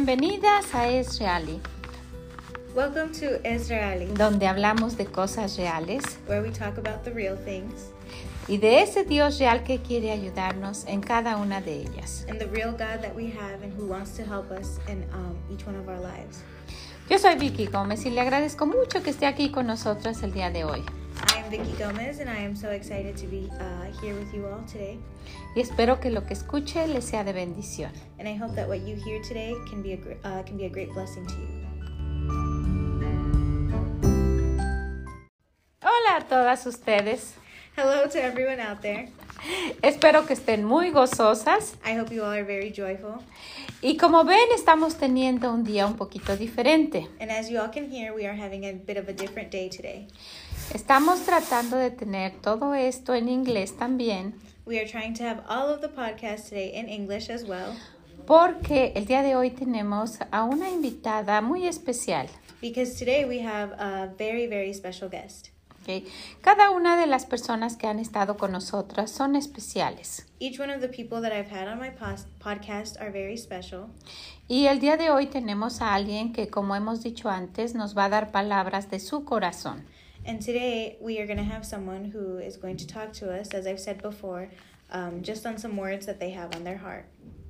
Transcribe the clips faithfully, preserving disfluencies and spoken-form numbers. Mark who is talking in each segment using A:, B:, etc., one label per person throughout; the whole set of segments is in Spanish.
A: Bienvenidas a Es Reali,
B: Welcome to Israeli,
A: donde hablamos de cosas reales
B: where we talk about the real things
A: y de ese Dios real que quiere ayudarnos en cada una de ellas.
B: and the real God that we have and who wants to help us in um, each one of our lives.
A: Yo soy Vicky Gómez y le agradezco mucho que esté aquí con nosotras el día de hoy.
B: I am Vicky Gomez and I am so excited to be uh, here with you all today.
A: Y espero que lo que escuche le sea de bendición.
B: And I hope that what you hear today can be a, gr- uh, can be a great blessing to you.
A: Hola a todas ustedes.
B: Hello to everyone out there.
A: Espero que estén muy gozosas.
B: I hope you all are very joyful.
A: Y como ven, estamos teniendo un día un poquito diferente.
B: And as you all can hear, we are having a bit of a different day today.
A: Estamos tratando de tener todo esto en inglés también,
B: We are trying to have all of the podcasts today in English as well,
A: porque el día de hoy tenemos a una invitada muy especial.
B: because today we have a very, very special guest.
A: ¿Okay? Cada una de las personas que han estado con nosotras son especiales.
B: Each one of the people that I've had on my pos- podcast are very special.
A: Y el día de hoy tenemos a alguien que, como hemos dicho antes, nos va a dar palabras de su corazón.
B: And today we are going to have someone who is going to talk to us, as I've said before, um, just on some words that they have on their heart.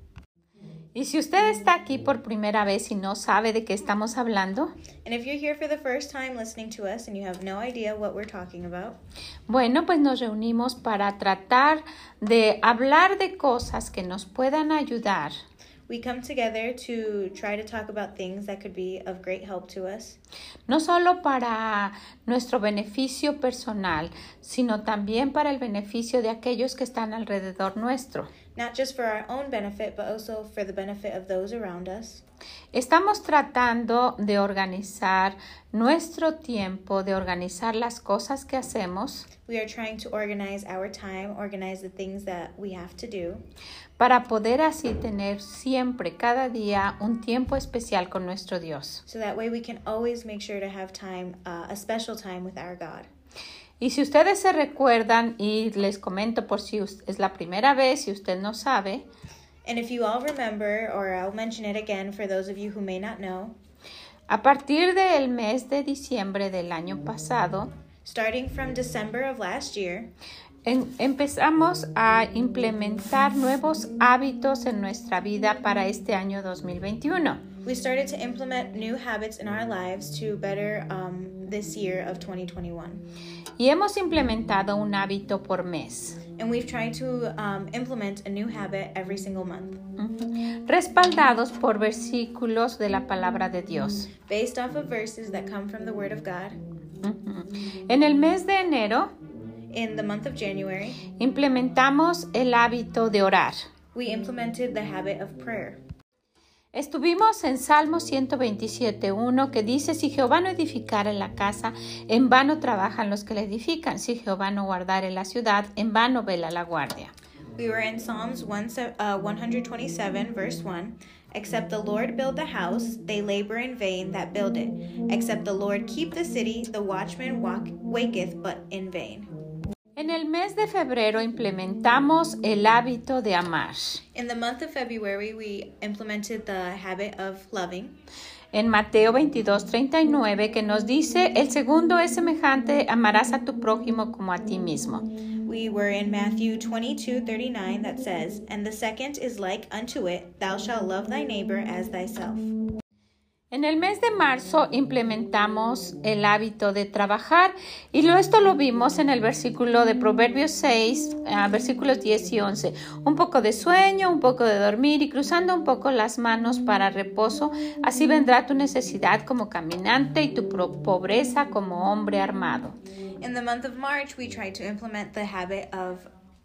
A: Y si usted está aquí por primera vez y no sabe de qué estamos hablando,
B: And if you're here for the first time listening to us and you have no idea what we're talking about,
A: bueno, pues nos reunimos para tratar de hablar de cosas que nos puedan ayudar.
B: we come together to try to talk about things that could be of great help to us,
A: No solo para nuestro beneficio personal, sino también para el beneficio de aquellos que están alrededor nuestro.
B: not just for our own benefit, but also for the benefit of those around us.
A: Estamos tratando de organizar nuestro tiempo, de organizar las cosas que hacemos
B: We are trying to organize our time, organize the things that we have to do,
A: para poder así tener siempre, cada día, un tiempo especial con nuestro Dios.
B: so that way we can always make sure to have time, uh, a special time with our God.
A: Y si ustedes se recuerdan, y les comento por si es la primera vez y usted no sabe,
B: And if you all remember, or I'll mention it again for those of you who may not know,
A: a partir del mes de diciembre del año pasado,
B: starting from December of last year,
A: en- empezamos a implementar nuevos hábitos en nuestra vida para este año dos mil veintiuno.
B: we started to implement new habits in our lives to better um, this year of twenty twenty-one.
A: Y hemos implementado un hábito por mes,
B: And we've tried to um, implement a new habit every single month,
A: ujú, respaldados por versículos de la palabra de Dios.
B: based off of verses that come from the Word of God.
A: Ujú. En el mes de enero
B: In the month of January,
A: implementamos el hábito de orar.
B: we implemented the habit of prayer.
A: Estuvimos en Salmo ciento veintisiete uno que dice: si Jehová no edificare la casa, en vano trabajan los que la edifican. Si Jehová no guardare la ciudad, en vano vela la guardia.
B: We were in Psalms one, se- uh, one twenty-seven, verse one. Except the Lord build the house, they labor in vain that build it. Except the Lord keep the city, the watchman walk, waketh but in vain.
A: En el mes de febrero implementamos el hábito de amar.
B: In the month of February, we implemented the habit of loving.
A: En Mateo veintidós treinta y nueve que nos dice: el segundo es semejante, amarás a tu prójimo como a ti mismo.
B: We were in Matthew twenty-two thirty-nine that says, And the second is like unto it, thou shalt love thy neighbor as thyself.
A: En el mes de marzo implementamos el hábito de trabajar y lo, esto lo vimos en el versículo de Proverbios seis, uh, versículos diez y once. Un poco de sueño, un poco de dormir y cruzando un poco las manos para reposo. Así vendrá tu necesidad como caminante y tu pro- pobreza como hombre armado.
B: In the month of March, we tried to implement the habit of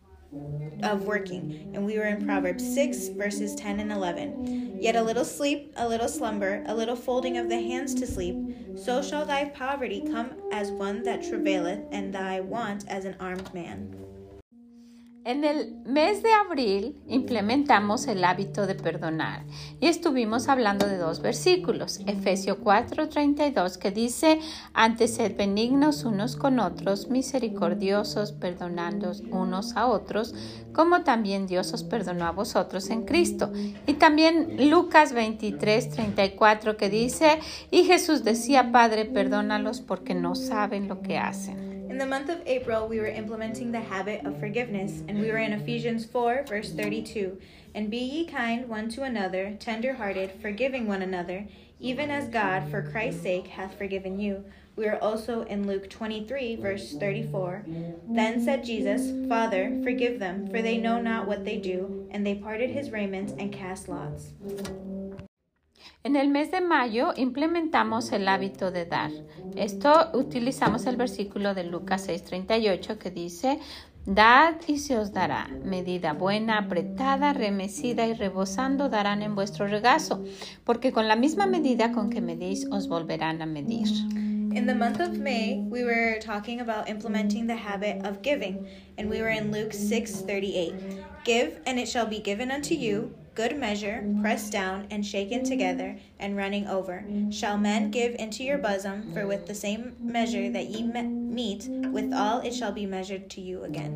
B: of working, and we were in Proverbs six, verses ten and eleven. Yet a little sleep, a little slumber, a little folding of the hands to sleep, so shall thy poverty come as one that travaileth, and thy want as an armed man.
A: En el mes de abril implementamos el hábito de perdonar y estuvimos hablando de dos versículos, Efesios cuatro treinta y dos, que dice, antes sed benignos unos con otros, misericordiosos, perdonando unos a otros, como también Dios os perdonó a vosotros en Cristo. Y también Lucas veintitrés treinta y cuatro, que dice, y Jesús decía, Padre, perdónalos porque no saben lo que hacen.
B: In the month of April, we were implementing the habit of forgiveness, and we were in Ephesians four, verse thirty-two. And be ye kind one to another, tender-hearted, forgiving one another, even as God, for Christ's sake, hath forgiven you. We are also in Luke twenty-three, verse thirty-four. Then said Jesus, Father, forgive them, for they know not what they do. And they parted his raiment and cast lots.
A: En el mes de mayo implementamos el hábito de dar. Esto utilizamos el versículo de Lucas seis treinta y ocho que dice, dad y se os dará, medida buena, apretada, remecida y rebosando darán en vuestro regazo, porque con la misma medida con que medís os volverán a medir.
B: In the month of May, we were talking about implementing the habit of giving, and we were in Luke six thirty-eight. Give, and it shall be given unto you, good measure, pressed down, and shaken together, and running over. Shall men give into your bosom, for with the same measure that ye me- meet, withal it shall be measured to you again.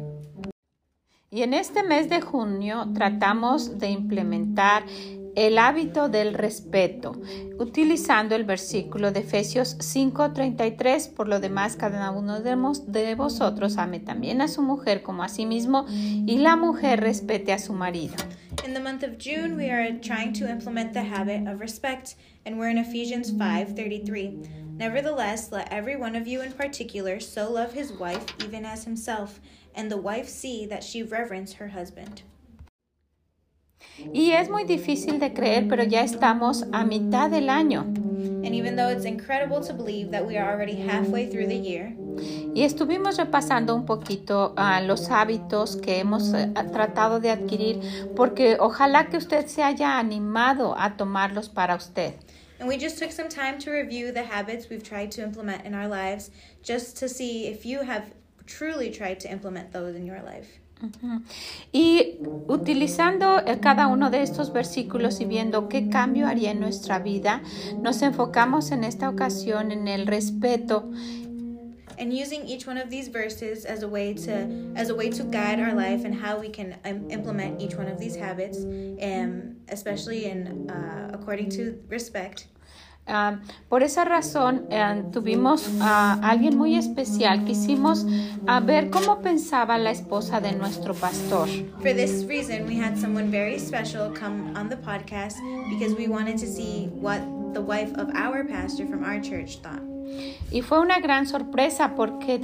A: Y en este mes de junio tratamos de implementar el hábito del respeto, utilizando el versículo de Efesios cinco treinta y tres, por lo demás cada uno de vosotros ame también a su mujer como a sí mismo, y la mujer respete a su marido.
B: In the month of June, we are trying to implement the habit of respect, and we're in Ephesians five thirty-three. Nevertheless, let every one of you in particular so love his wife even as himself, and the wife see that she reverence her husband.
A: Y es muy difícil de creer, pero ya estamos a mitad del año.
B: And even though it's incredible to believe that we are already halfway through the year,
A: y estuvimos repasando un poquito uh, los hábitos que hemos uh, tratado de adquirir, porque ojalá que usted se haya animado a tomarlos para usted.
B: And we just took some time to review the habits we've tried to implement in our lives, just to see if you have truly tried to implement those in your life.
A: Uh-huh. Y utilizando cada uno de estos versículos y viendo qué cambio haría en nuestra vida, nos enfocamos en esta ocasión en el respeto.
B: And using each one of these verses as a way to as a way to guide our life and how we can um, implement each one of these habits, um, especially in uh, according to respect.
A: Uh, por esa razón uh, tuvimos a uh, alguien muy especial. Quisimos uh, ver cómo pensaba la esposa de nuestro pastor.
B: For this reason, we had someone very special come on the podcast because we wanted to see what the wife of our pastor from our church thought.
A: Y fue una gran sorpresa porque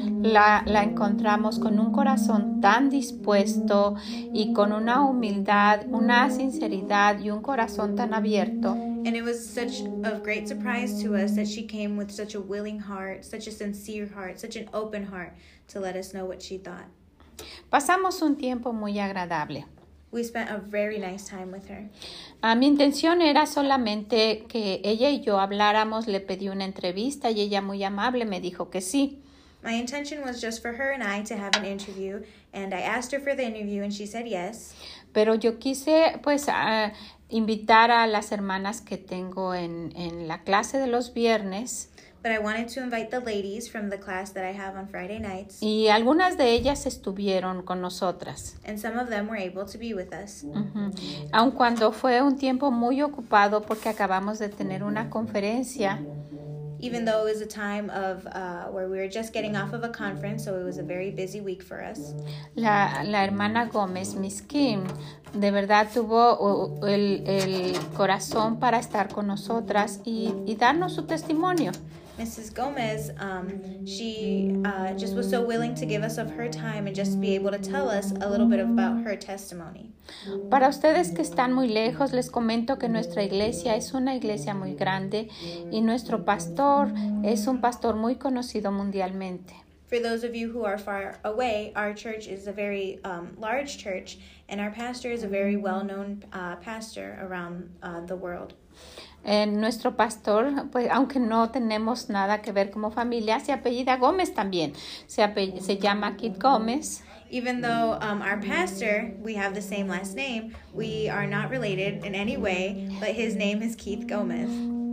A: la, la encontramos con un corazón tan dispuesto y con una humildad, una sinceridad y un corazón tan abierto.
B: And it was such a great surprise to us that she came with such a willing heart, such a sincere heart, such an open heart to let us know what she thought.
A: Pasamos un tiempo muy agradable.
B: We spent a very nice time with her.
A: Uh, mi intención era solamente que ella y yo habláramos, le pedí una entrevista y ella muy amable me dijo que sí.
B: My intention was just for her and I to have an interview, and I asked her for the interview and she said yes.
A: Pero yo quise pues uh, invitar a las hermanas que tengo en, en la clase de los viernes.
B: But I wanted to invite the ladies from the class that I have on Friday nights.
A: Y algunas de ellas estuvieron con nosotras.
B: And some of them were able to be with us.
A: Uh-huh. Aun cuando fue un tiempo muy ocupado porque acabamos de tener una conferencia.
B: Even though it was a time of uh, where we were just getting off of a conference, so it was a very busy week for us.
A: La, la hermana Gómez, Miss Kim, de verdad tuvo uh, el, el corazón para estar con nosotras y, y darnos su testimonio.
B: Missus Gomez, um, she uh, just was so willing to give us of her time and just be able to tell us a little bit about her testimony.
A: Para ustedes que están muy lejos, les comento que nuestra iglesia es una iglesia muy grande y nuestro pastor es un pastor muy conocido mundialmente.
B: For those of you who are far away, our church is a very um, large church, and our pastor is a very well-known uh, pastor around uh, the world.
A: Eh, nuestro pastor, pues aunque no tenemos nada que ver como familia, se apellida Gómez también. Se, ape- se llama Kit Gómez.
B: Even though um, our pastor, we have the same last name, we are not related in any way, but his name is Keith Gomez.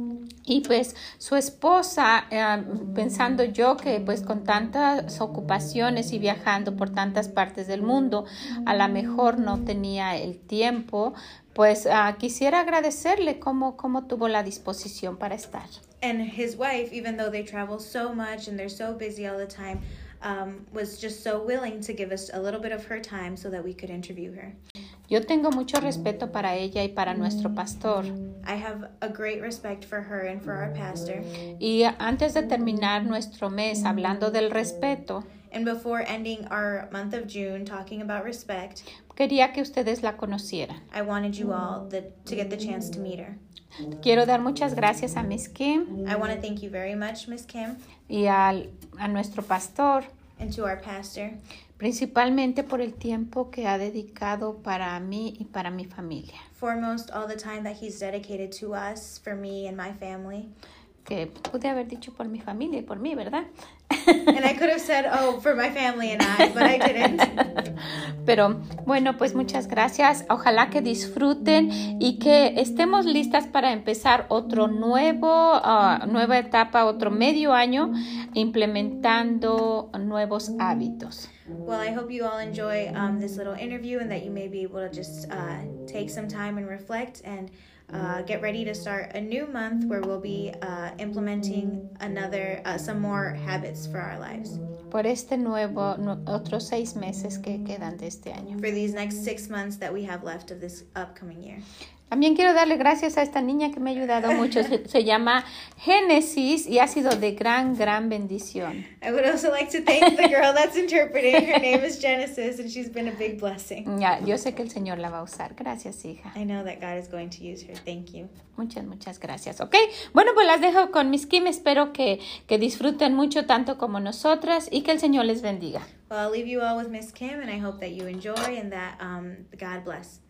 A: Y pues su esposa, eh, pensando yo que pues con tantas ocupaciones y viajando por tantas partes del mundo, a lo mejor no tenía el tiempo, pues uh, quisiera agradecerle cómo, cómo tuvo la disposición para estar.
B: And his wife, even though they travel so much and they're so busy all the time, um, was just so willing to give us a little bit of her time so that we could interview her.
A: Yo tengo mucho respeto para ella y para nuestro pastor.
B: I have a great respect for her and for our pastor.
A: Y antes de terminar nuestro mes hablando del respeto,
B: And before ending our month of June talking about respect,
A: quería que ustedes la conocieran.
B: I wanted you all the, to get the chance to meet her.
A: Quiero dar muchas gracias a Miss Kim
B: I want to thank you very much, Miss Kim,
A: y al, a nuestro pastor,
B: and to our pastor,
A: principalmente por el tiempo que ha dedicado para mí y para mi familia.
B: foremost all the time that he's dedicated to us, for me and my family.
A: Que pude haber dicho por mi familia y por mí, ¿verdad?
B: And I could have said, oh, for my family and I, but I didn't.
A: Pero bueno, pues muchas gracias. Ojalá que disfruten y que estemos listas para empezar otro nuevo, uh, nueva etapa, otro medio año implementando nuevos hábitos.
B: Well, I hope you all enjoy um, this little interview and that you may be able to just uh, take some time and reflect and uh, get ready to start a new month where we'll be uh, implementing another, uh, some more habits for our lives.
A: Por este nuevo, no, otros seis meses que quedan de este año.
B: For these next six months that we have left of this upcoming year.
A: También quiero darle gracias a esta niña que me ha ayudado mucho. Se, se llama Génesis y ha sido de gran, gran bendición.
B: I would also like to thank the girl that's interpreting. Her name is Genesis and she's been a big blessing.
A: Ya, yo sé que el Señor la va a usar. Gracias, hija.
B: I know that God is going to use her. Thank you.
A: Muchas, muchas gracias. Ok, bueno, pues las dejo con Miss Kim. Espero que, que disfruten mucho tanto como nosotras y que el Señor les bendiga.
B: Well, I'll leave you all with Miss Kim and I hope that you enjoy and that um, God bless.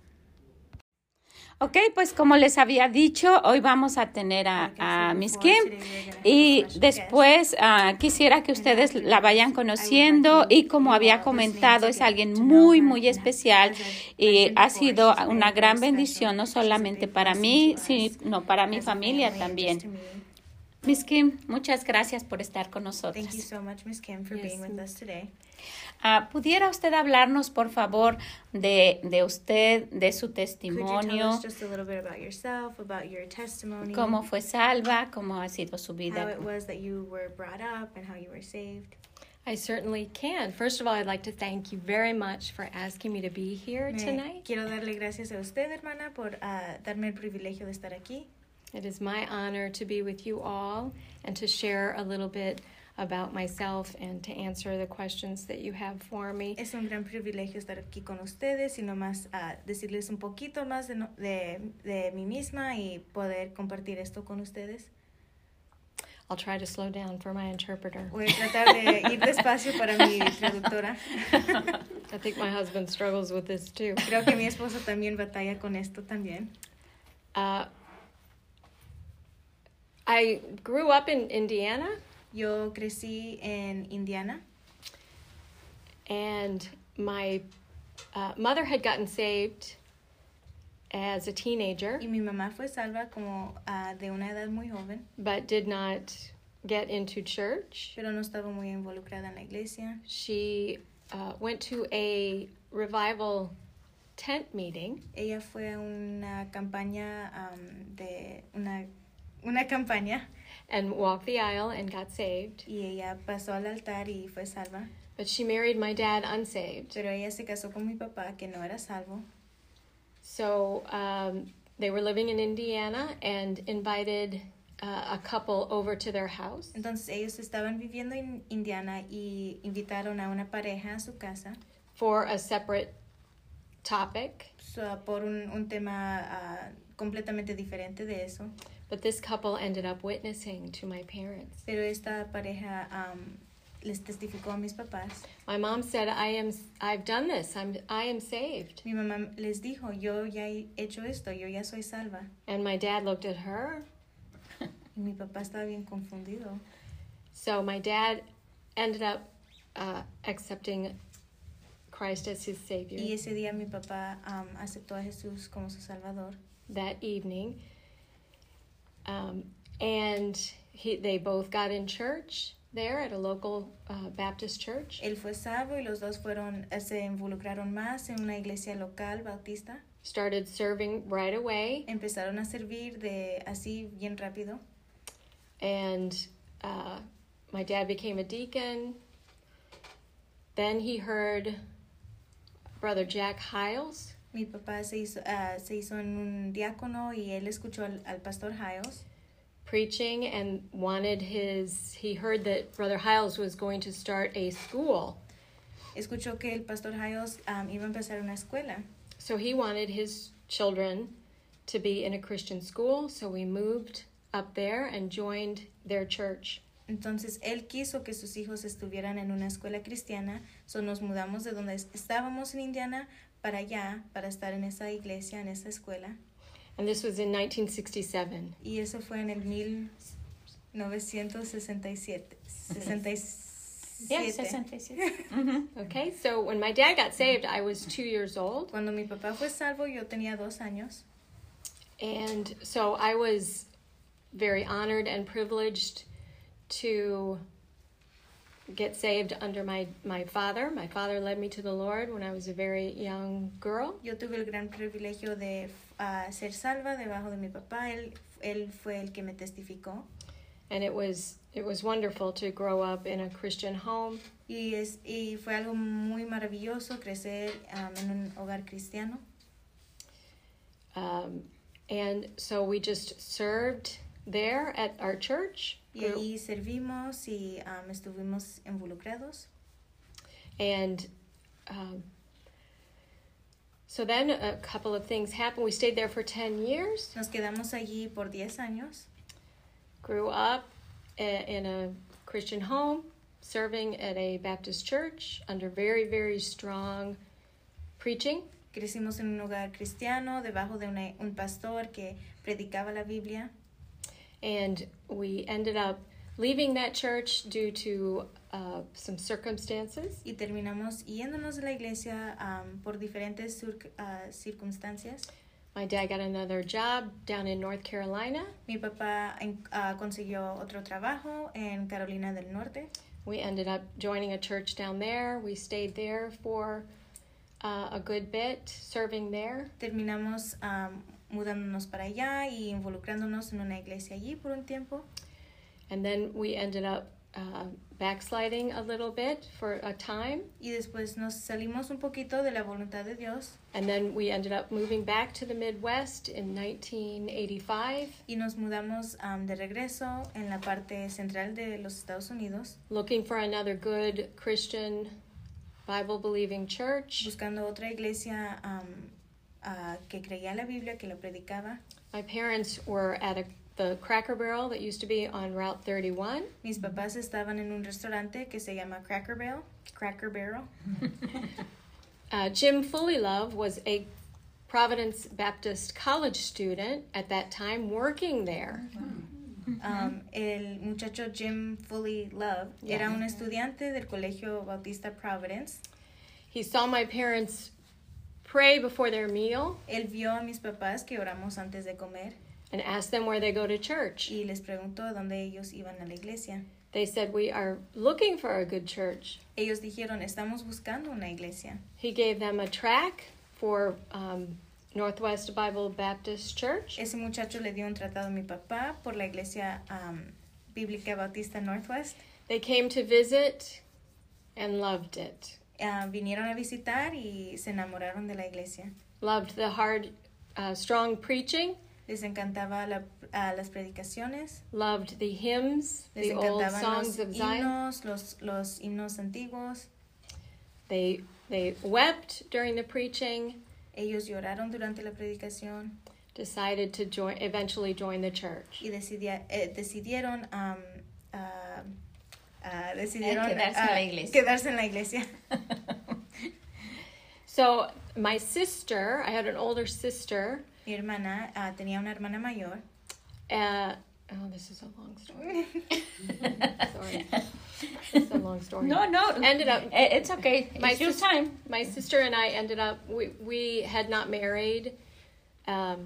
A: Ok, pues como les había dicho, hoy vamos a tener a, a Miss Kim y después uh, quisiera que ustedes la vayan conociendo y como había comentado es alguien muy muy especial y ha sido una gran bendición no solamente para mí, sino para mi familia también. Miss Kim, muchas gracias por estar con nosotros.
B: Thank you so much, Miss Kim, for being with us today.
A: Uh, ¿Pudiera usted hablarnos, por favor, de, de usted, de su testimonio?
B: Could you tell us just a little bit about yourself, about your testimony?
A: ¿Cómo fue salva? ¿Cómo ha sido su vida?
B: How it was that you were brought up and how you were saved?
C: I certainly can. First of all, I'd like to thank you very much for asking me to be here
B: Me
C: tonight.
B: Quiero darle gracias a usted, hermana, por uh, darme el privilegio de estar aquí.
C: It is my honor to be with you all and to share a little bit about myself and to answer the questions that you have for me.
B: Es un gran privilegio estar aquí con ustedes y nomás uh, decirles un poquito más de, no, de, de mí misma y poder compartir esto con ustedes.
C: I'll try to slow down for my interpreter.
B: Voy a tratar de ir despacio para mi traductora.
C: I think my husband struggles with this too.
B: Creo que mi esposo también batalla con esto también.
C: Uh, I grew up in Indiana.
B: Yo crecí en Indiana.
C: And my uh, mother had gotten saved as a teenager.
B: Y mi mamá fue salva como uh, de una edad muy joven.
C: But did not get into church.
B: Pero no estaba muy involucrada en la iglesia.
C: She uh, went to a revival tent meeting.
B: Ella fue a una campaña um, de una una campaña.
C: And walked the aisle and got saved.
B: Y ella pasó al altar y fue salva.
C: But she married my dad unsaved.
B: Pero ella se casó con mi papá que no era salvo.
C: So um, they were living in Indiana and invited uh, a couple over to their house.
B: Entonces ellos estaban viviendo en Indiana y invitaron a una pareja a su casa.
C: For a separate topic.
B: So, por un, un tema uh, completamente diferente de eso.
C: But this couple ended up witnessing to my parents.
B: Pero esta pareja um, les testificó a mis papás.
C: My mom said, I am, I've done this. I'm, I am saved.
B: Mi mamá les dijo, yo ya he hecho esto, yo ya soy salva.
C: And my dad looked at her.
B: Y mi papá estaba bien confundido.
C: So my dad ended up uh, accepting Christ as his Savior.
B: Y ese día mi papá um, aceptó a Jesús como su Salvador.
C: That evening. Um, and he, they both got in church there at a local uh, Baptist church.
B: Él fue salvo y los dos fueron, se involucraron más en una iglesia local bautista.
C: Started serving right away.
B: Empezaron a servir de así bien rápido.
C: And uh, my dad became a deacon. Then he heard Brother Jack Hiles.
B: Mi papá se hizo, uh, se hizo en un diácono y él escuchó al, al pastor Hiles
C: preaching and wanted his, he heard that Brother Hiles was going to start a school.
B: Escuchó que el pastor Hiles um, iba a empezar una escuela.
C: So he wanted his children to be in a Christian school, so we moved up there and joined their church.
B: Entonces él quiso que sus hijos estuvieran en una escuela cristiana, so nos mudamos de donde estábamos en Indiana para allá, para estar en esa iglesia, en esa escuela.
C: And this was in nineteen sixty-seven.
B: Y eso fue en el mil novecientos sesenta y siete. sesenta y siete.
A: Yeah, sesenta y siete. Mm-hmm.
C: Okay, so when my dad got saved, I was two years old.
B: Cuando mi papá fue salvo, yo tenía dos años.
C: And so I was very honored and privileged to get saved under my, my father. My father led me to the Lord when I was a very young girl.
B: Yo tuve el gran privilegio de uh, ser salva debajo de mi papá. Él, él fue el que me testificó.
C: And it was it was wonderful to grow up in a Christian home.
B: Y, es, y fue algo muy maravilloso crecer um, en un hogar cristiano.
C: Um, and so we just served there at our church.
B: Y allí servimos y um, estuvimos involucrados.
C: And um, so then a couple of things happened. We stayed there for ten years.
B: Nos quedamos allí por diez años.
C: Grew up in a Christian home, serving at a Baptist church under very, very strong preaching.
B: Crecimos en un hogar cristiano debajo de una, un pastor que predicaba la Biblia.
C: And we ended up leaving that church due to uh, some circumstances.
B: Y terminamos yéndonos de la iglesia um, por diferentes sur, uh, circunstancias.
C: My dad got another job down in North Carolina.
B: Mi papá uh, consiguió otro trabajo en Carolina del Norte.
C: We ended up joining a church down there. We stayed there for uh, a good bit, serving there.
B: Terminamos um, mudándonos para allá y involucrándonos en una iglesia allí por un tiempo.
C: And then we ended up uh, backsliding a little bit for a time.
B: Y después nos salimos un poquito de la voluntad de Dios.
C: And then we ended up moving back to the Midwest in nineteen eighty-five.
B: Y nos mudamos um, de regreso en la parte central de los Estados Unidos.
C: Looking for another good Christian Bible-believing church.
B: Buscando otra iglesia um, uh, que creía la Biblia, que la predicaba.
C: My parents were at a, the Cracker Barrel that used to be on Route thirty-one.
B: Mis papás estaban en un restaurante que se llama Cracker Barrel. Cracker Barrel.
C: Uh, Jim Fullylove was a Providence Baptist College student at that time working there.
B: Um, el muchacho Jim Fullylove
C: Yeah.
B: era un estudiante del Colegio Bautista Providence.
C: He saw my parents pray before their meal
B: Él vio a mis papás que oramos antes de comer
C: and asked them where they go to church.
B: y les preguntó dónde ellos iban a la iglesia.
C: They said, we are looking for a good church.
B: Ellos dijeron, estamos buscando una iglesia.
C: He gave them a tract for um, Northwest Bible Baptist Church.
B: Ese muchacho le dio un tratado a mi papá por la iglesia um, bíblica bautista Northwest.
C: They came to visit and loved it.
B: Uh, vinieron a visitar y se enamoraron de la iglesia.
C: Loved the hard, uh, strong preaching.
B: Les encantaba la, uh, las predicaciones.
C: Loved the hymns,
B: Les
C: the old
B: encantaban
C: songs
B: los
C: of Zion.
B: himnos, los, los himnos antiguos.
C: They they wept during the preaching.
B: Ellos lloraron durante la predicación
C: Decided to join, eventually join the church.
B: y decidia, eh, decidieron um, uh, uh, decidieron
A: quedarse
B: uh,
A: en la iglesia.
B: quedarse en la iglesia.
C: So my sister, I had an older sister.
B: Mi hermana uh, tenía una hermana mayor.
C: Uh, oh, this is a long story. Sorry. It's a long story.
A: No, no.
C: Ended up.
A: It's okay.
C: My
A: It's your
C: sis-
A: time.
C: My sister and I ended up. We we had not married. Um,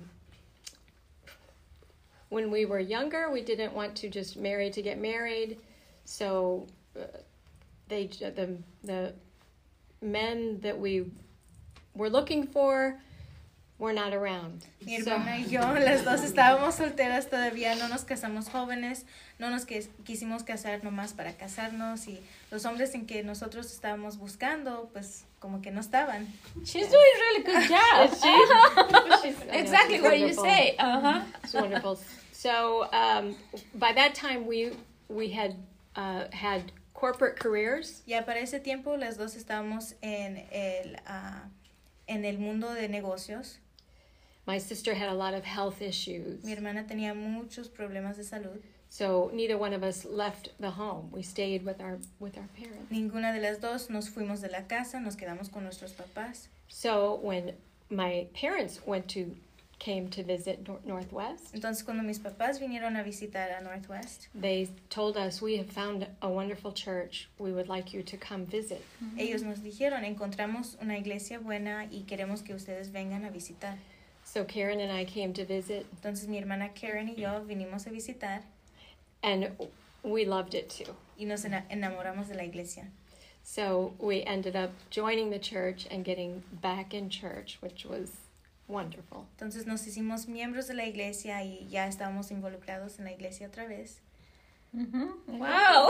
C: when we were younger, we didn't want to just marry to get married, so uh, they the the men that we were looking for were not around.
B: Mi
C: So-
B: hermana y yo, las dos estábamos solteras todavía, no nos casamos jóvenes, no nos que- quisimos casar nomás para casarnos y los hombres en que nosotros estábamos buscando, pues como que no estaban.
A: She's doing really good job.
C: Is she? She's- I know,
A: Exactly
C: she's
A: what you
C: wonderful.
A: say. Uh-huh.
C: It's wonderful. So um, by that time, we we had uh, had corporate careers.
B: Ya para ese tiempo las dos estábamos en el, uh, en el mundo de negocios.
C: My sister had a lot of health issues.
B: Mi hermana tenía muchos problemas de salud.
C: So neither one of us left the home. We stayed with our with our parents.
B: Ninguna de las dos nos fuimos de la casa, nos quedamos con nuestros papás.
C: So when my parents went to came to visit Nor- Northwest,
B: Entonces cuando mis papás vinieron a visitar a Northwest,
C: they told us, we have found a wonderful church. We would like you to come visit.
B: ellos nos dijeron, encontramos una iglesia buena y queremos que ustedes vengan a visitar.
C: So Karen and I came to visit,
B: Entonces mi hermana Karen y yo vinimos a visitar
C: and we loved it too.
B: y nos ena- enamoramos de la iglesia.
C: So we ended up joining the church and getting back in church, which was wonderful.
B: Entonces nos hicimos miembros de la iglesia y ya estábamos involucrados en la iglesia otra vez.
A: Ujú. Wow.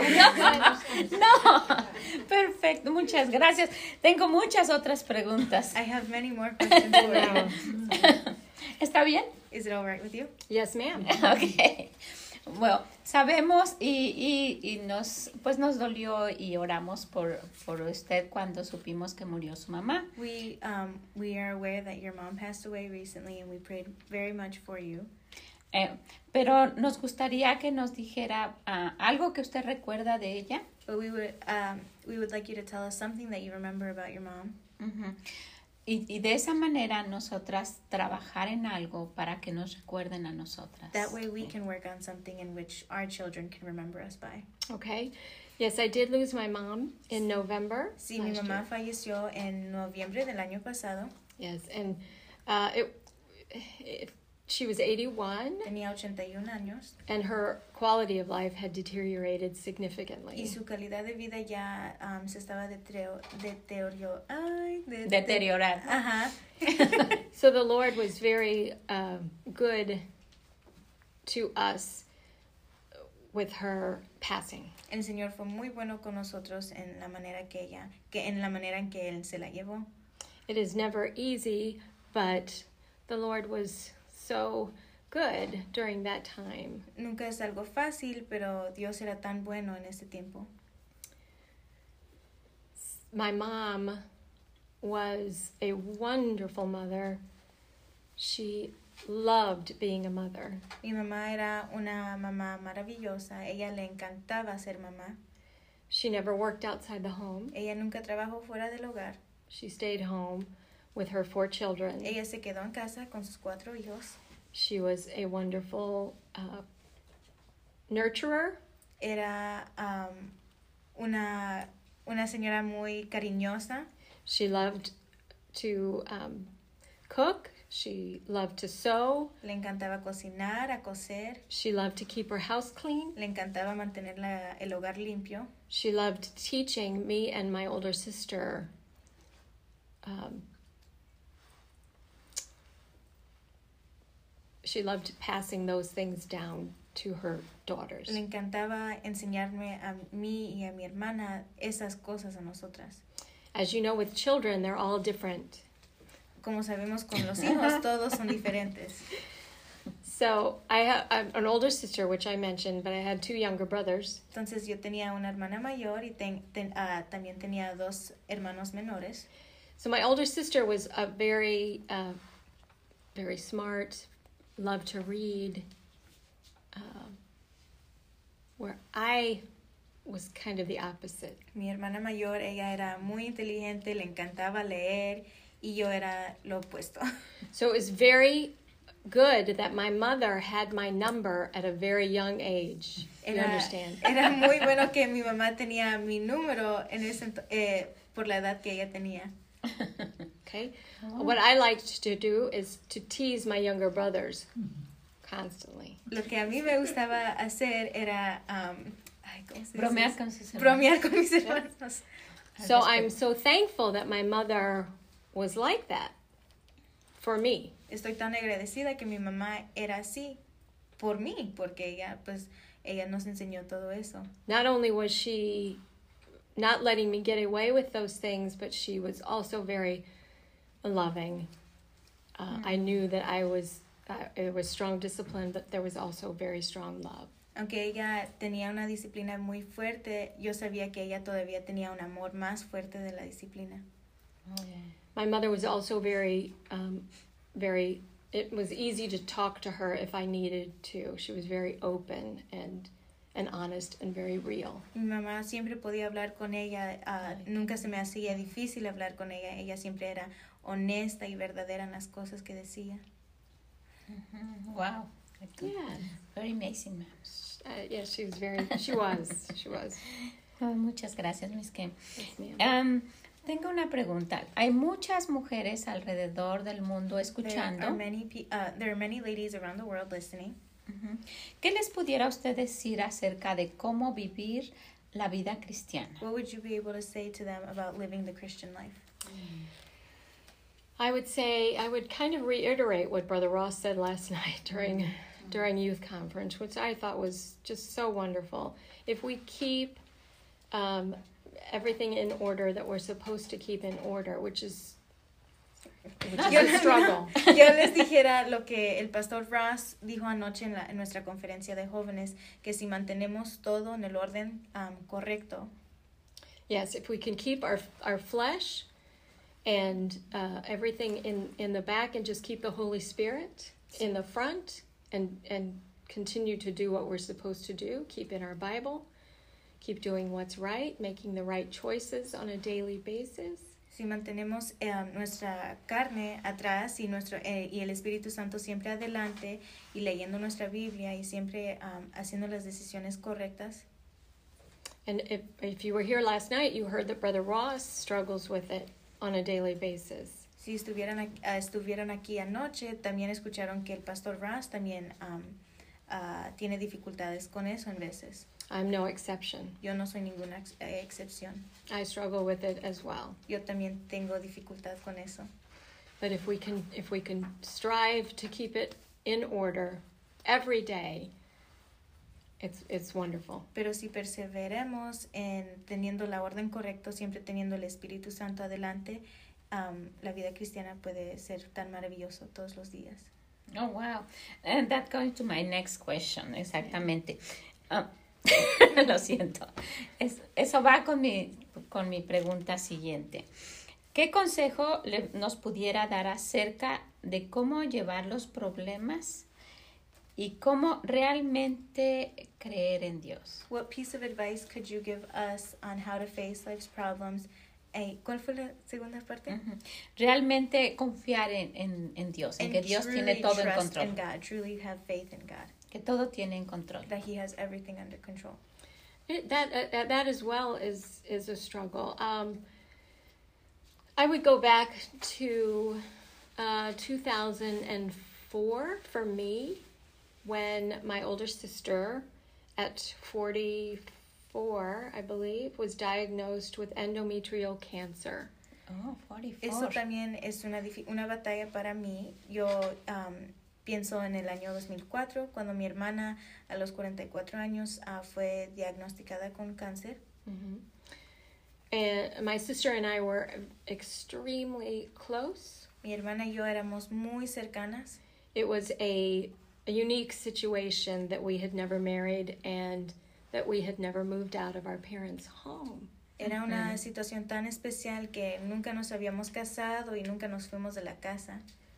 A: No. Perfecto. Muchas gracias. Tengo muchas otras preguntas.
B: I have many more questions for you.
A: ¿Está bien?
B: Is it all right with you?
C: Yes, ma'am.
A: Okay. Bueno, sabemos y, y, y nos, pues nos dolió y oramos por, por usted cuando supimos que murió su mamá.
B: We um we are aware that your mom passed away recently and we prayed very much for you.
A: Eh, pero nos gustaría que nos dijera ah, algo que usted recuerda de ella.
B: But we would um we would like you to tell us something that you remember about your mom.
A: Ujú. Y, y de esa manera nosotras trabajar en algo para que nos recuerden a nosotras.
B: That way we can work on something in which our children can remember us by.
C: Okay. Yes, I did lose my mom in November.
B: Sí, mi
C: last
B: mamá
C: year.
B: falleció en noviembre del año pasado.
C: Yes, and uh, it, it, she was eighty-one,
B: Tenía ochenta y un años
C: and her quality of life had deteriorated significantly.
B: y su calidad de vida ya um, se estaba deterio- deterio- ay, de-
A: Deteriorar.
B: Ajá.
C: So the Lord was very um, good to us with her passing.
B: El Señor fue muy bueno con nosotros en la manera que ella, que en la manera en que él se la llevó.
C: It is never easy, but the Lord was so good during that time.
B: Nunca es algo fácil, pero Dios era tan bueno en ese tiempo.
C: My mom was a wonderful mother. She loved being a mother.
B: Mi mamá era una mamá maravillosa. Ella le encantaba ser mamá.
C: She never worked outside the home.
B: Ella nunca trabajó fuera del hogar.
C: She stayed home with her four children.
B: Ella se quedó en casa con sus cuatro hijos.
C: She was a wonderful uh, nurturer.
B: Era um, una, una señora muy cariñosa.
C: She loved to um, cook. She loved to sew.
B: Le encantaba cocinar, a coser.
C: She loved to keep her house clean.
B: Le encantaba mantener la, el hogar limpio.
C: She loved teaching me and my older sister um, she loved passing those things down to her daughters.
B: Le encantaba enseñarme a mí y a mi hermana esas cosas a nosotras.
C: As you know, with children, they're all different.
B: Como sabemos con los hijos, todos son diferentes.
C: So I have I'm an older sister, which I mentioned, but I had two younger brothers.
B: Entonces yo tenía una hermana mayor y ten, ten, uh, también tenía dos hermanos menores.
C: So my older sister was a very, uh, very smart, loved to read. Uh, where I was kind of the opposite.
B: Mi hermana mayor, ella era muy inteligente, le encantaba leer, y yo era lo opuesto.
C: So it was very good that my mother had my number at a very young age. You
B: Era,
C: understand?
B: era muy bueno que mi mamá tenía mi número en ese, ento- eh, por la edad que ella tenía.
C: Okay. Oh. What I liked to do is to tease my younger brothers constantly.
B: Lo que a mí me gustaba hacer era um, ay, ¿cómo se dice?
A: Bromear con sus hermanos.
B: Bromear con mis hermanos.
C: So I'm so thankful that my mother was like that for me.
B: Estoy tan agradecida que mi mamá era así por mí, porque ella, pues, ella nos enseñó todo eso.
C: Not only was she not letting me get away with those things, but she was also very loving. Uh, mm-hmm. I knew that I was, uh, it was strong discipline, but there was also very strong love.
B: Aunque ella tenía una disciplina muy fuerte, yo sabía que ella todavía tenía un amor más fuerte de la disciplina.
C: Oh, yeah. My mother was also very, um, very, it was easy to talk to her if I needed to. She was very open and and honest and very real.
B: Mi mamá siempre podía hablar con ella, uh, nunca se me hacía difícil hablar con ella. Ella siempre era honesta y verdadera en las cosas que decía.
A: Mm-hmm. Wow.
C: Yeah.
A: Very amazing, ma'am.
C: Uh, yeah, she was very, she was, she was.
A: Oh, muchas gracias, Miss Kim.
C: Yes,
A: um, tengo una pregunta. Hay muchas mujeres alrededor del mundo escuchando.
B: There are many, pe- uh, there are many ladies around the world listening.
A: Uh-huh. ¿Qué les pudiera usted decir acerca de cómo vivir la vida cristiana?
B: What would you be able to say to them about living the Christian life?
C: I would say, I would kind of reiterate what Brother Ross said last night during mm-hmm. during youth conference, which I thought was just so wonderful. If we keep um, everything in order that we're supposed to keep in order, which is, which is a struggle.
B: Yo les dijera lo que el pastor Ross dijo anoche en, la, en nuestra conferencia de jóvenes, que si mantenemos todo en el orden um, correcto.
C: Yes, if we can keep our our flesh and uh, everything in, in the back and just keep the Holy Spirit in the front and, and continue to do what we're supposed to do, keep in our Bible, keep doing what's right, making the right choices on a daily basis.
B: Si mantenemos eh, nuestra carne atrás y, nuestro, eh, y el Espíritu Santo siempre adelante y leyendo nuestra Biblia y siempre um, haciendo las decisiones correctas.
C: And if, if you were here last night, you heard that Brother Ross struggles with it on a daily basis.
B: Si estuvieran aquí, uh, estuvieron aquí anoche, también escucharon que el pastor Ross también um, uh, tiene dificultades con eso en veces.
C: I'm no exception.
B: Yo no soy ninguna ex- eh, excepción.
C: I struggle with it as well.
B: Yo también tengo dificultad con eso.
C: But if we can, if we can strive to keep it in order every day, it's it's wonderful.
B: Pero si perseveremos en teniendo la orden correcta, siempre teniendo el Espíritu Santo adelante, um, la vida cristiana puede ser tan maravilloso todos los días.
A: Oh, wow. And that goes to my next question, exactamente. Uh, lo siento. Es, eso va con mi, con mi pregunta siguiente. ¿Qué consejo le, nos pudiera dar acerca de cómo llevar los problemas y cómo realmente creer en Dios?
B: What piece of advice could you give us on how to face life's problems? Eh, ¿Cuál fue la segunda parte?
A: Uh-huh. Realmente confiar en, en, en Dios, en
B: And
A: que Dios tiene todo en control.
B: in God, truly have faith in God.
A: Que todo tiene en control.
B: That He has everything under control.
C: It, that uh, that as well is is a struggle. Um, I would go back to uh, two thousand four for me, when my older sister, at forty-four, I believe, was diagnosed with endometrial cancer.
A: Oh, forty-four.
B: Eso también es una, una batalla para mí. Yo um, pienso en el año dos mil cuatro, cuando mi hermana a los cuarenta y cuatro años uh, fue diagnosticada con cáncer.
C: Mm-hmm. And my sister and I were extremely close.
B: Mi hermana y yo éramos muy cercanas.
C: It was a, a unique situation that we had never married and that we had never moved out of our parents' home.
B: Era una situación tan especial que nunca nos habíamos casado y nunca nos fuimos de la casa.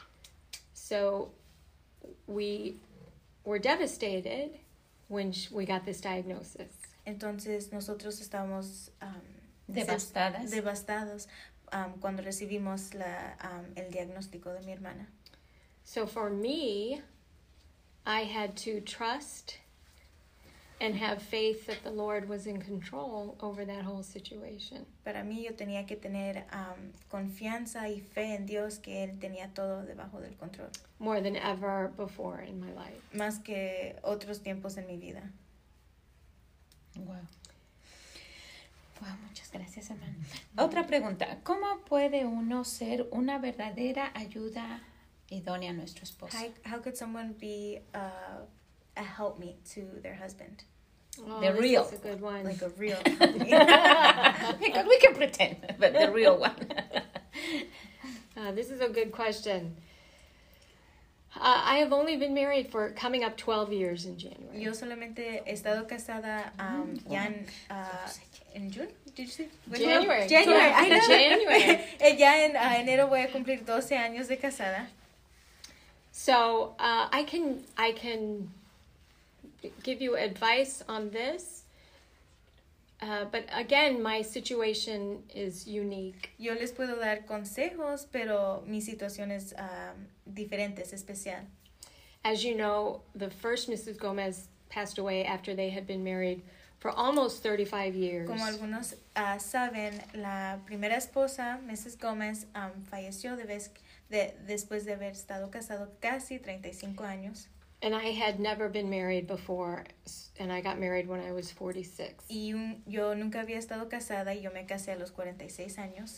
C: So we were devastated when we got this diagnosis.
B: Entonces nosotros estábamos um,
A: Devastadas.
B: devastados um, cuando recibimos la, um, el diagnóstico de mi hermana.
C: So for me, I had to trust and have faith that the Lord was in control over that whole situation.
B: Para mí yo tenía que tener um, confianza y fe en Dios que Él tenía todo debajo del control.
C: More than ever before in my life.
B: Más que otros tiempos en mi vida.
A: Wow. Wow, muchas gracias, hermano. Otra pregunta. ¿Cómo puede uno ser una verdadera ayuda idónea a nuestro esposo?
B: How, how could someone be uh, a helpmeet to their husband?
C: Oh,
A: The
C: this
A: real.
C: is a good one.
B: Like a real helpmeet.
A: Because we can pretend, but the real one.
C: Uh, this is a good question. Uh, I have only been married for coming up twelve years in January.
B: Yo solamente he estado casada um, ya en, uh, en June, did you say?
C: January.
B: January, I know.
C: January.
B: Eh, ya en uh, enero voy a cumplir doce años de casada.
C: So uh, I can I can give you advice on this, uh, but again, my situation is unique.
B: Yo les puedo dar consejos, pero mi situación es um, diferente, es especial.
C: As you know, the first Missus Gomez passed away after they had been married for almost thirty-five years.
B: Como algunos uh, saben, la primera esposa, Missus Gomez, um, falleció de vez, de, después de haber estado casado casi treinta y cinco años.
C: And I had never been married before, and I got married when I was forty-six.
B: Y un, yo nunca había estado casada y yo me casé a los cuarenta y seis años.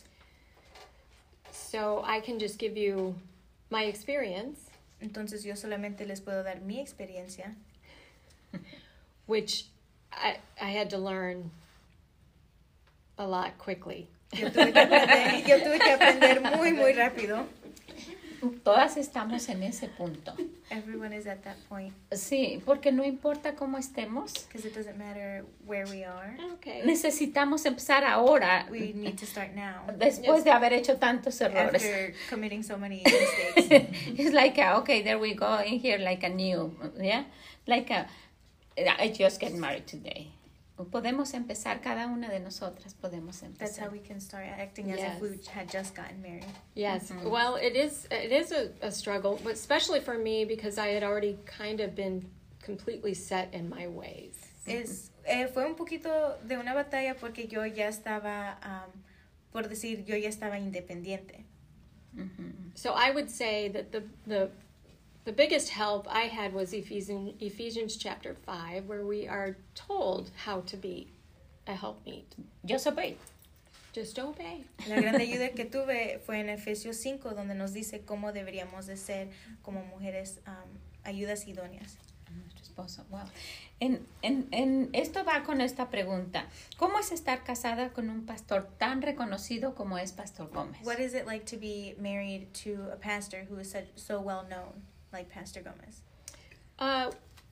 C: So I can just give you my experience.
B: Entonces yo solamente les puedo dar mi experiencia,
C: which I, I had to learn a lot quickly.
B: Yo tuve que aprender, yo tuve que aprender muy, muy rápido.
A: Todas estamos en ese punto.
B: Everyone is at that point.
A: Sí, porque no importa cómo estemos,
B: Because it doesn't matter where we are.
C: Okay.
A: necesitamos empezar ahora,
B: We need to start now.
A: después de haber hecho tantos errores.
B: After committing so many mistakes.
A: It's like, a, okay, there we go in here like a new, yeah? Like a, I just get married today. Podemos empezar, cada una de nosotras podemos
B: That's how
A: empezar.
B: we can start acting as
C: Yes.
B: if we had just gotten married.
C: Yes.
A: Mhm.
C: Well, it is it is a, a struggle, but especially for me because I had already kind of been completely set in my ways.
B: Es, eh, fue un poquito de una batalla porque yo ya estaba, um, por decir, yo ya estaba independiente.
A: Ujú.
C: So I would say that the the the biggest help I had was Ephesians Ephesians chapter five, where we are told how to be a helpmeet.
A: Just obey.
C: Just obey.
B: La grande ayuda que tuve fue en Efesios cinco, donde nos dice cómo deberíamos de ser como mujeres um, ayudas idóneas.
A: Nuestro esposo, wow. En, en, en, esto va con esta pregunta. ¿Cómo es estar casada con un pastor tan reconocido como es Pastor Gómez?
B: What is it like to be married to a pastor who is such, so well known, like Pastor Gomez?
C: Uh,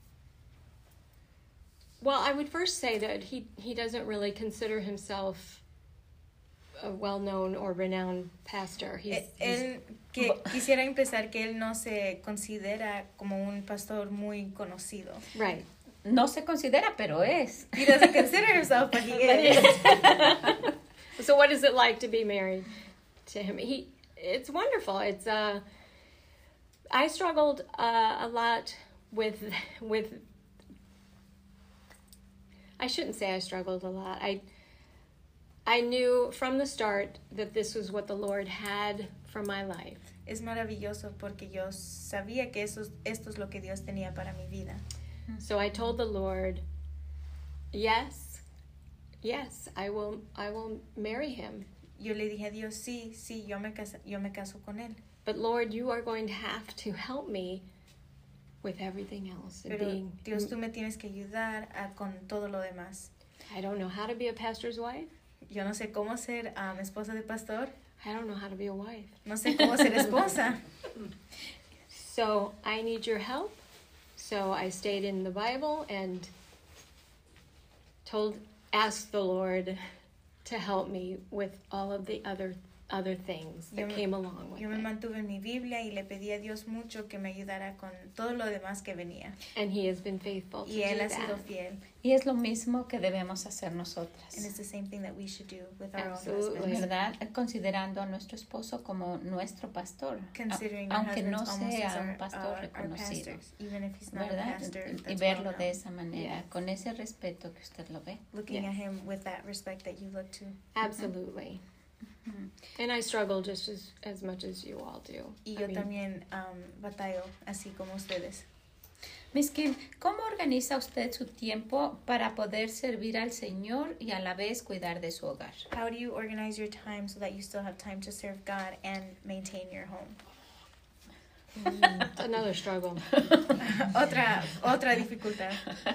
C: well, I would first say that he, he doesn't really consider himself a well-known or renowned pastor. He's,
B: Eh,
C: he's-
B: Él, que, quisiera empezar que él no se considera como un pastor muy conocido.
C: right.
A: No se considera, pero es.
B: He doesn't consider himself, but he is.
C: So what is it like to be married to him? He, it's wonderful. It's uh, I struggled uh, a lot with with. I shouldn't say I struggled a lot. I I knew from the start that this was what the Lord had for my life.
B: Es maravilloso porque yo sabía que eso, esto es lo que Dios tenía para mi vida.
C: So I told the Lord, yes, yes, I will I will marry him.
B: Yo le dije a Dios, sí, sí, yo me, casa, yo me caso con él.
C: But Lord, you are going to have to help me with everything else. And
B: Pero
C: being,
B: Dios, tú me tienes que ayudar a, con todo lo demás.
C: I don't know how to be a pastor's wife.
B: Yo no sé cómo ser um, esposa de pastor.
C: I don't know how to be a wife.
B: No sé cómo ser esposa.
C: So I need your help. So I stayed in the Bible and told, asked the Lord to help me with all of the other other things that
B: yo me,
C: came along with
B: yo me
C: it.
B: mantuve en mi Biblia y le pedí a Dios mucho que me ayudara con todo lo demás que venía.
C: And he has been faithful to
B: Y él
C: do
B: ha sido
C: that.
B: fiel.
A: Y es lo mismo que debemos hacer
B: And
A: nosotras,
B: it's the same thing that we should do with our
C: Absolutely.
B: own husbands.
A: ¿verdad? Considerando a nuestro esposo como nuestro pastor,
B: Considering
A: a-
B: our
A: aunque no
B: husbands almost as
A: sea
B: our,
A: un pastor
B: our, our
A: reconocido,
B: pastors, even if he's not a
A: ¿verdad?
B: pastor.
A: Y
B: That's
A: verlo
B: well
A: de
B: known.
A: esa manera,
C: Yes.
A: con ese respeto que usted lo ve.
B: Looking
C: Yes.
B: at him with that respect that you look to.
C: Absolutely. And I struggle just as, as much as you all do.
B: Y
C: I
B: yo
C: mean,
B: también um, batallo así como ustedes.
A: Miss Kim, ¿cómo organiza usted su tiempo para poder servir al Señor y a la vez cuidar de su hogar?
B: How do you organize your time so that you still have time to serve God and maintain your home?
C: it's another struggle.
B: otra, otra dificultad.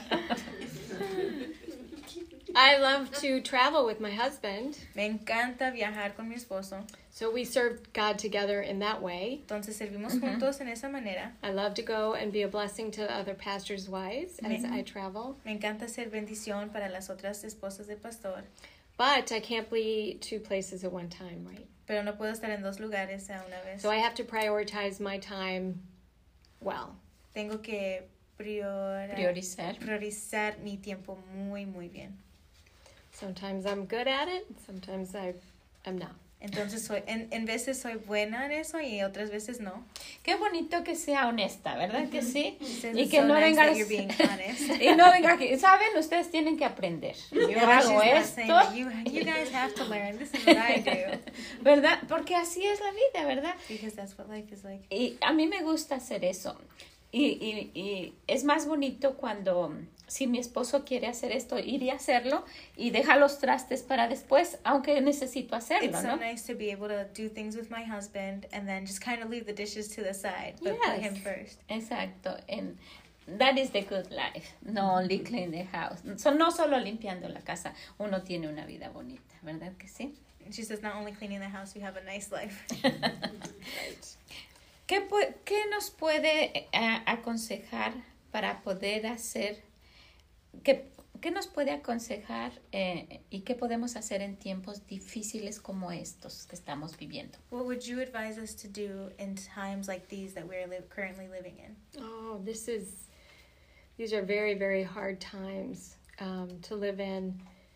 C: I love to travel with my husband.
B: Me encanta viajar con mi esposo.
C: So we serve God together in that way.
B: Entonces servimos juntos en esa manera.
C: I love to go and be a blessing to other pastors' wives as
B: Mhm.
C: I travel.
B: Me encanta ser bendición para las otras esposas de pastor.
C: But I can't be two places at one time, right?
B: Pero no puedo estar en dos lugares a una vez.
C: So I have to prioritize my time well.
B: Tengo que prior-
A: Priorizar.
B: priorizar mi tiempo muy, muy bien.
C: Sometimes I'm good at it, sometimes I am not.
B: Entonces, soy, en, en veces soy buena en eso y otras veces no.
A: Qué bonito que sea honesta, ¿verdad que sí?
B: Says
A: Y
B: it's
A: que
B: so
A: no
B: nice
A: venga
B: that you're being honest.
A: y no venga aquí. Saben, ustedes tienen que aprender. Yo
B: Yeah,
A: hago
B: she's not saying
A: esto,
B: that you, you guys have to learn. This is what I do.
A: ¿verdad? Porque así es la vida, ¿verdad?
B: Because that's what life is like.
A: Y a mí me gusta hacer eso. Y, y, y es más bonito cuando, si mi esposo quiere hacer esto, ir y hacerlo y deja los trastes para después, aunque necesito hacerlo,
B: It's so
A: ¿no?
B: nice to be able to do things with my husband and then just kind of leave the dishes to the side, but put
C: Yes.
B: him first.
A: Exacto. And that is the good life. No only clean the house. So, no solo limpiando la casa, uno tiene una vida bonita, ¿verdad que sí?
B: She says not only cleaning the house, we have a nice life.
C: Right.
A: ¿Qué, pu- qué nos puede eh, aconsejar para poder hacer, qué, qué nos puede aconsejar eh, y qué podemos hacer en tiempos difíciles como estos que estamos viviendo?
B: What would you advise us to do in times like these that we're li- currently living in?
C: Oh, this is, these are very, very hard times um, to live in.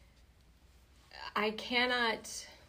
C: I cannot,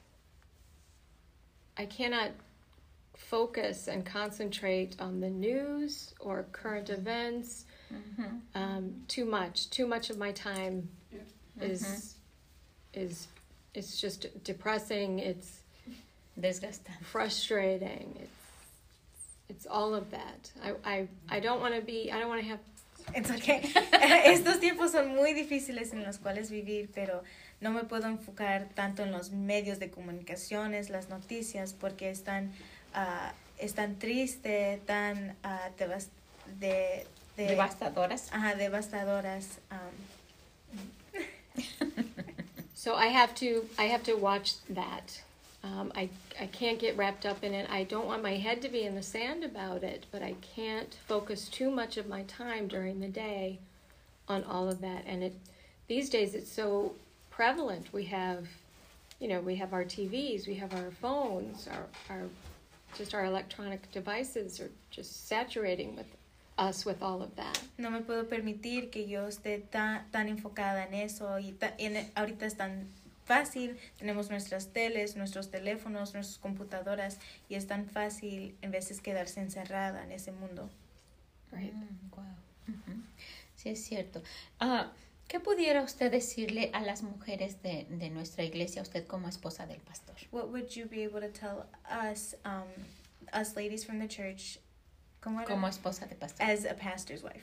C: I cannot focus and concentrate on the news or current events um, too much. Too much of my time is, is, it's just depressing. It's
A: Desgastante.
C: frustrating. It's, it's all of that. I, I, I don't want to be, I don't want to have
B: It's okay. Estos tiempos son muy difíciles en los cuales vivir, pero no me puedo enfocar tanto en los medios de comunicaciones, las noticias, porque están, uh, están tristes, tan uh, devas- de, de,
A: Devastadoras.
B: ajá, devastadoras. Um,
C: So I have to I have to watch that. Um, I I can't get wrapped up in it. I don't want my head to be in the sand about it, but I can't focus too much of my time during the day on all of that. And it these days it's so prevalent. We have, you know, we have our T Vs, we have our phones, our our just our electronic devices are just saturating with us with all of that.
B: no me puedo permitir que yo esté tan, tan enfocada en eso y ta- en, ahorita es tan fácil, tenemos nuestras teles, nuestros teléfonos, nuestras computadoras y es tan fácil en veces quedarse encerrada en ese mundo.
C: Right.
A: Mm, wow. Ujú. Sí, es cierto. Ah, ¿qué pudiera usted decirle a las mujeres de, de nuestra iglesia, usted como esposa del pastor?
B: What would you be able to tell us, um, us ladies from the church, como era?
A: Como esposa de pastor.
B: As a pastor's wife?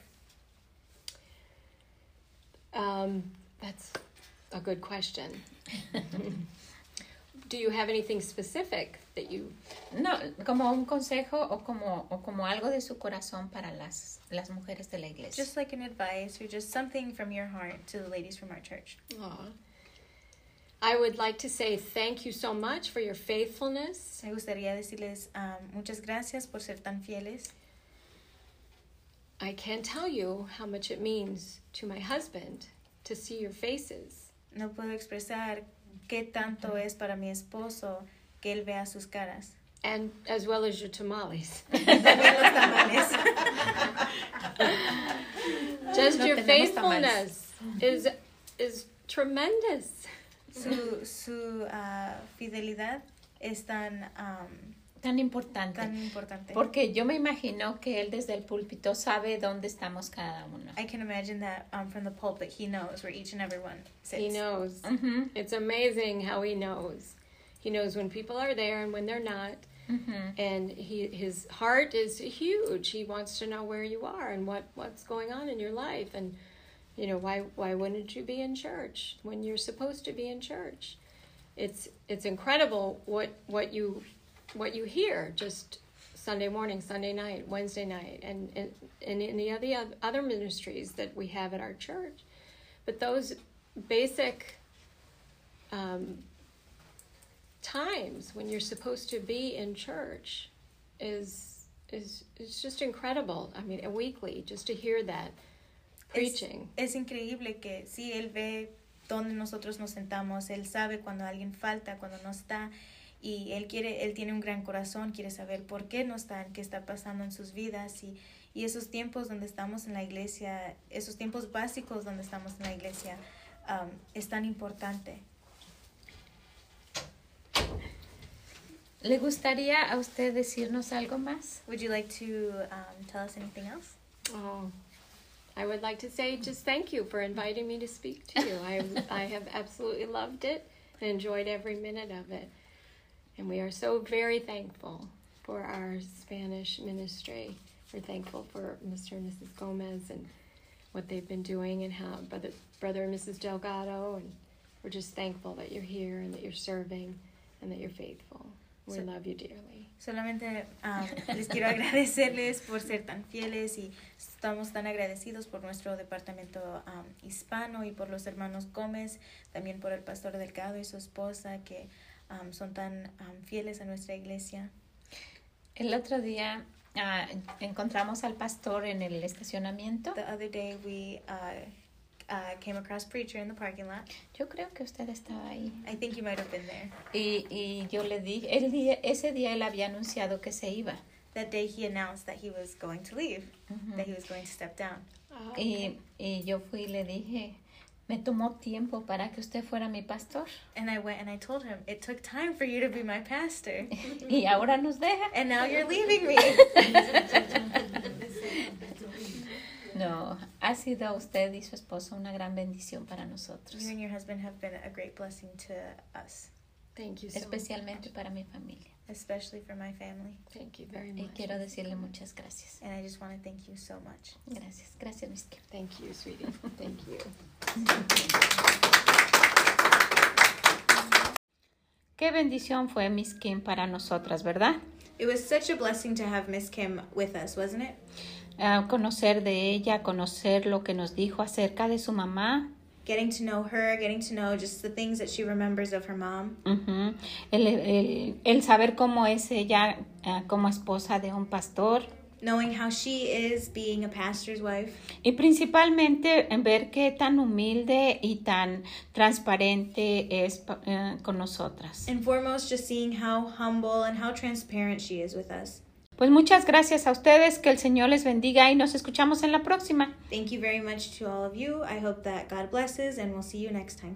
C: Um, that's a good question. Do you have anything specific that you
A: No, como un consejo o como, o como algo de su corazón para las, las mujeres de la iglesia.
B: Just like an advice or just something from your heart to the ladies from our church.
C: Aw. I would like to say thank you so much for your faithfulness.
B: Me gustaría decirles um, muchas gracias por ser tan fieles.
C: I can't tell you how much it means to my husband to see your faces.
B: No puedo expresar qué tanto es para mi esposo que Él vea sus caras.
C: And as well as your tamales.
B: También los tamales.
C: Just
A: No
C: your
A: tenemos
C: faithfulness is is tremendous.
B: Su, su uh, fidelidad es tan, um,
A: Tan importante.
B: tan importante.
A: Porque yo me imagino que él desde el púlpito sabe dónde estamos cada uno.
B: I can imagine that um, from the pulpit, he knows where each and every one sits.
C: He knows.
A: Uh-huh.
C: It's amazing how he knows. He knows when people are there and when they're not.
A: Uh-huh.
C: And he his heart is huge. He wants to know where you are and what, what's going on in your life. And, you know, why why wouldn't you be in church when you're supposed to be in church? It's it's incredible what what you what you hear just Sunday morning, Sunday night, Wednesday night, and and, and in the other other ministries that we have at our church. But those basic um, times when you're supposed to be in church is is is just incredible. I mean, weekly, just to hear that preaching.
B: Es, es increíble que sí, Él ve dónde nosotros nos sentamos, Él sabe cuando alguien falta, cuando no está, y Él quiere, Él tiene un gran corazón, quiere saber por qué no están, qué está pasando en sus vidas, y, y esos tiempos donde estamos en la iglesia, esos tiempos básicos donde estamos en la iglesia, um, es tan importante.
A: ¿Le gustaría a usted decirnos algo más?
B: Would you like to um, tell us anything else?
C: Oh, I would like to say just thank you for inviting me to speak to you. I I have absolutely loved it and enjoyed every minute of it. And we are so very thankful for our Spanish ministry. We're thankful for Mister and Missus Gomez and what they've been doing and how Brother, Brother and Missus Delgado. And we're just thankful that you're here and that you're serving and that you're faithful. We
B: So-
C: love you dearly.
B: Solamente um, les quiero agradecerles por ser tan fieles y estamos tan agradecidos por nuestro departamento um, hispano y por los hermanos Gómez, también por el pastor Delgado y su esposa que um, son tan um, fieles a nuestra iglesia.
A: El otro día ah, encontramos al pastor en el estacionamiento.
B: The other day we uh, uh, came across Preacher in the parking lot.
A: Yo creo que usted estaba ahí.
B: I think you might have been there.
A: Y, y yo le dije, el día, ese día él había anunciado que se iba.
B: That day he announced that he was going to leave,
A: Ujú.
B: that he was going to step down.
C: Oh,
A: Y, y yo fui y le dije, me tomó tiempo para que usted fuera mi pastor.
B: And I went and I told him, it took time for you to be my pastor.
A: Y ahora nos deja.
B: And now you're leaving me.
A: No, ha sido usted y su esposo una gran bendición para nosotros.
B: You and your husband have been a great blessing to us,
C: thank you so
A: Especialmente
C: much.
A: para mi familia.
B: especially for my family.
C: Thank you very
A: Y
C: much.
A: quiero decirle muchas gracias.
B: And I just want to thank you so much.
A: Gracias, gracias, Miss Kim.
C: Thank you, sweetie. Thank you.
A: Qué bendición fue Miss Kim para nosotras, ¿verdad?
B: It was such a blessing to have Miss Kim with us, wasn't it?
A: Uh, conocer de ella, conocer lo que nos dijo acerca de su mamá.
B: Getting to know her, getting to know just the things that she remembers of her mom.
A: Uh-huh. el, el, el saber cómo es ella uh, como esposa de un pastor.
B: Knowing how she is being a pastor's wife.
A: Y principalmente en ver qué tan humilde y tan transparente es uh, con nosotras.
B: And foremost, just seeing how humble and how transparent she is with us.
A: Pues muchas gracias a ustedes, que el Señor les bendiga y nos escuchamos en la próxima.
B: Thank you very much to all of you. I hope that God blesses and we'll see you next time.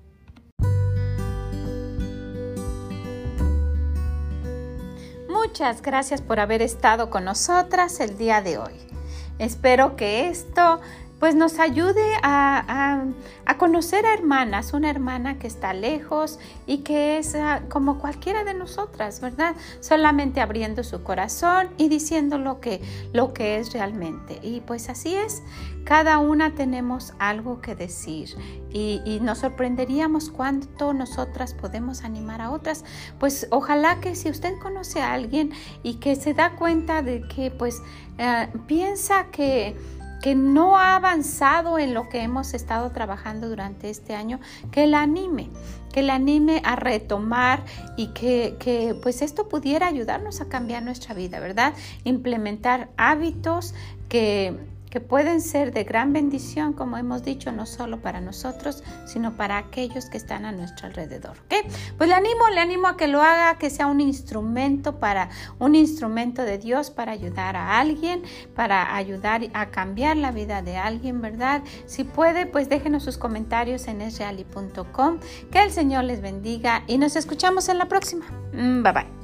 A: Muchas gracias por haber estado con nosotras el día de hoy. Espero que esto pues nos ayude a, a, a conocer a hermanas, una hermana que está lejos y que es uh, como cualquiera de nosotras, ¿verdad? Solamente abriendo su corazón y diciendo lo que, lo que es realmente. Y pues así es, cada una tenemos algo que decir y, y nos sorprenderíamos cuánto nosotras podemos animar a otras. Pues ojalá que si usted conoce a alguien y que se da cuenta de que pues uh, piensa que que no ha avanzado en lo que hemos estado trabajando durante este año, que la anime, que la anime a retomar y que, que pues esto pudiera ayudarnos a cambiar nuestra vida, ¿verdad? Implementar hábitos que, que pueden ser de gran bendición, como hemos dicho, no solo para nosotros, sino para aquellos que están a nuestro alrededor. ¿Okay? Pues le animo, le animo a que lo haga, que sea un instrumento para un instrumento de Dios para ayudar a alguien, para ayudar a cambiar la vida de alguien, ¿verdad? Si puede, pues déjenos sus comentarios en es reali punto com. Que el Señor les bendiga y nos escuchamos en la próxima. Bye bye.